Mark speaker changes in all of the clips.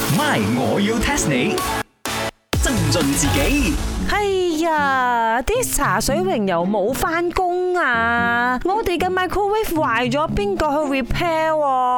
Speaker 1: My， 我要 test 你。增進自己。
Speaker 2: 哎呀，啲茶水榮又冇返工啊！我哋嘅 microwave 壞咗，邊個去 repair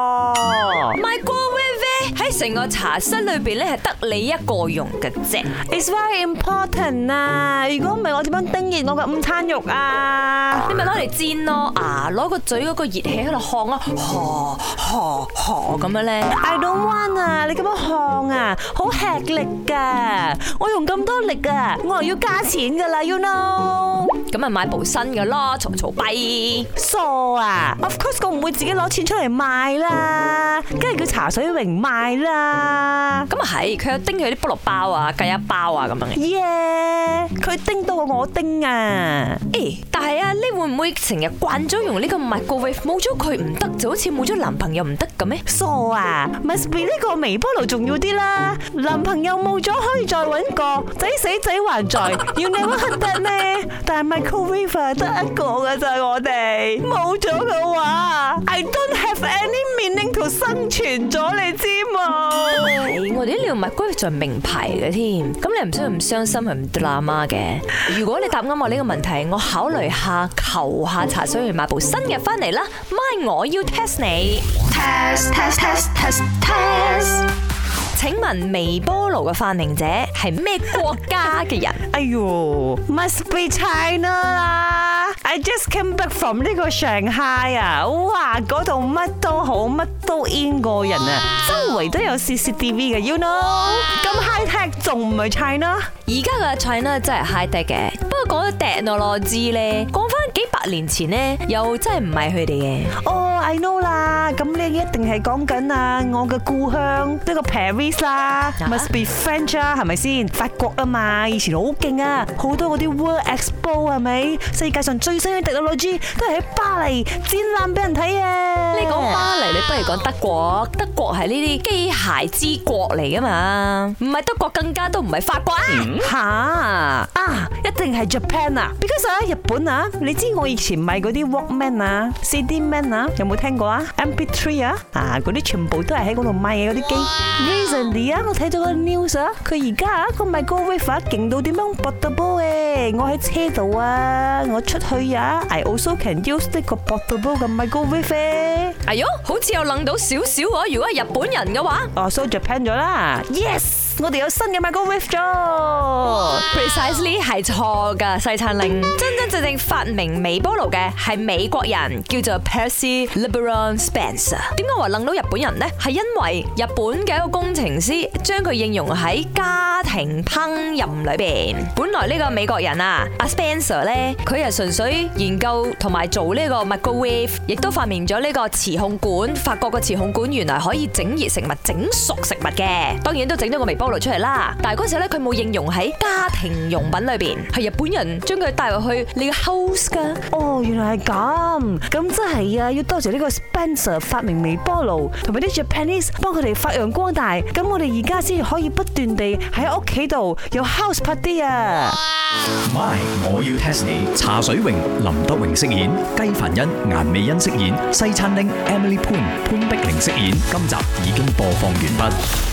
Speaker 3: ？microwave 喺成個茶室裏邊咧，係得你一個用嘅啫。
Speaker 2: It's very important 啊！如果唔係，我點樣叮熱我嘅午餐肉啊？
Speaker 3: 你咪攞嚟煎咯，攞個嘴嗰個熱氣喺度烘啊，咁樣咧。
Speaker 2: I don't want 啊！你咁樣烘啊，好吃力噶！我用咁多力啊，我又要加錢噶啦 ，you know？
Speaker 3: 咁咪買部新嘅咯，嘈跛。
Speaker 2: 傻啊 ！Of course 我唔會自己攞錢出嚟賣啦，梗係叫茶水榮賣啦。
Speaker 3: 咁啊係，佢有叮佢啲菠蘿包啊、雞一包啊咁樣嘅。
Speaker 2: 耶！佢叮到我叮啊！
Speaker 3: 但係啊，你會唔會成日慣咗用呢個 microwave， 冇咗佢唔得，就好似冇咗男朋友唔得咁咩？
Speaker 2: 傻啊 ！must be 呢個微波爐重要啲啦。男朋友冇咗可以再搵個，仔死仔還在，要你屈得咩？但係 microwave 得一個噶咋，我哋冇咗嘅話 ，I don't have any meaning to 生存咗，你知冇？
Speaker 3: 我哋呢條 microwave 仲係名牌嘅添，咁你唔需要咁傷心係唔得啦媽嘅。如果你答啱我呢個問題，我考慮下求下茶水榮買部新嘅翻嚟啦。My， 我要 test 你。test。請問微波爐嘅發明者係咩國家嘅人？
Speaker 2: 哎喲 ，must be China 啦 ！I just came back from 呢個上海啊，哇，嗰度乜都好，乜都 in 過人啊，周圍都有 CCTV 嘅 ，you know？ 咁 high tech 仲唔係 China？
Speaker 3: 而家嘅 China 真係 high tech 嘅，不過講到 technology 咧，講翻幾百年前咧，又真係唔係佢哋嘅。
Speaker 2: 哦 ，I know 啦，咁你一定係講緊啊，我嘅故鄉呢個 Paris 啦 ，must be French 啊，係咪先？法國啊嘛，以前好勁啊，好多嗰啲 World Expo 係咪？世界上最新嘅 technology 都係喺巴黎展覽俾人睇啊！
Speaker 3: 你講巴黎，你不如講德國，德國係呢啲機械之國嚟噶嘛，唔係德國更加都唔係法國啊！
Speaker 2: 一定係 Japan 啊 ，because 啊日本啊，你知我以前買嗰啲 Walkman 啊、CD Man 啊，有冇聽過啊 ？MP3 啊，嗰啲全部都係喺嗰度買嘅嗰啲機。Recently 啊，我睇到個 news 啊，佢而家個 microwave 啊勁到點樣 portable 嘅，我喺車度啊，我出去啊 ，I also can use 呢個 portable 嘅 microwave。
Speaker 3: 哎喲，好似又諗到少少喎，如果係日本人嘅話，
Speaker 2: so Japan 咗啦 ，yes。我哋有新嘅 microwave 咗
Speaker 3: ，precisely 係錯噶，西餐令真正發明微波爐嘅係美國人，叫做 Percy LeBron Spencer。點解話諗到日本人呢？係因為日本嘅一個工程師將佢應用喺家庭烹飪裏邊。本來呢個美國人啊，阿 Spencer 咧，佢係純粹研究同埋做呢個 microwave， 亦都發明咗呢個磁控管。法國個磁控管原來可以整熱食物、整熟食物嘅，當然都整咗個微波爐出嚟啦，但係嗰時候咧佢冇應用喺家庭用品裏邊，係日本人將佢帶入去你嘅 house 噶。
Speaker 2: 哦，原來係咁，咁真係啊，要多謝呢個 Spencer 發明微波爐，同埋啲 Japanese 幫佢哋發揚光大，咁我哋而家先可以不斷地喺屋企度有 house party 啊。
Speaker 1: My， 我要 test 你。茶水榮、林德榮飾演，雞凡欣、顏美欣飾演，西餐廳 Emily Poon 潘碧玲飾演。今集已經播放完畢。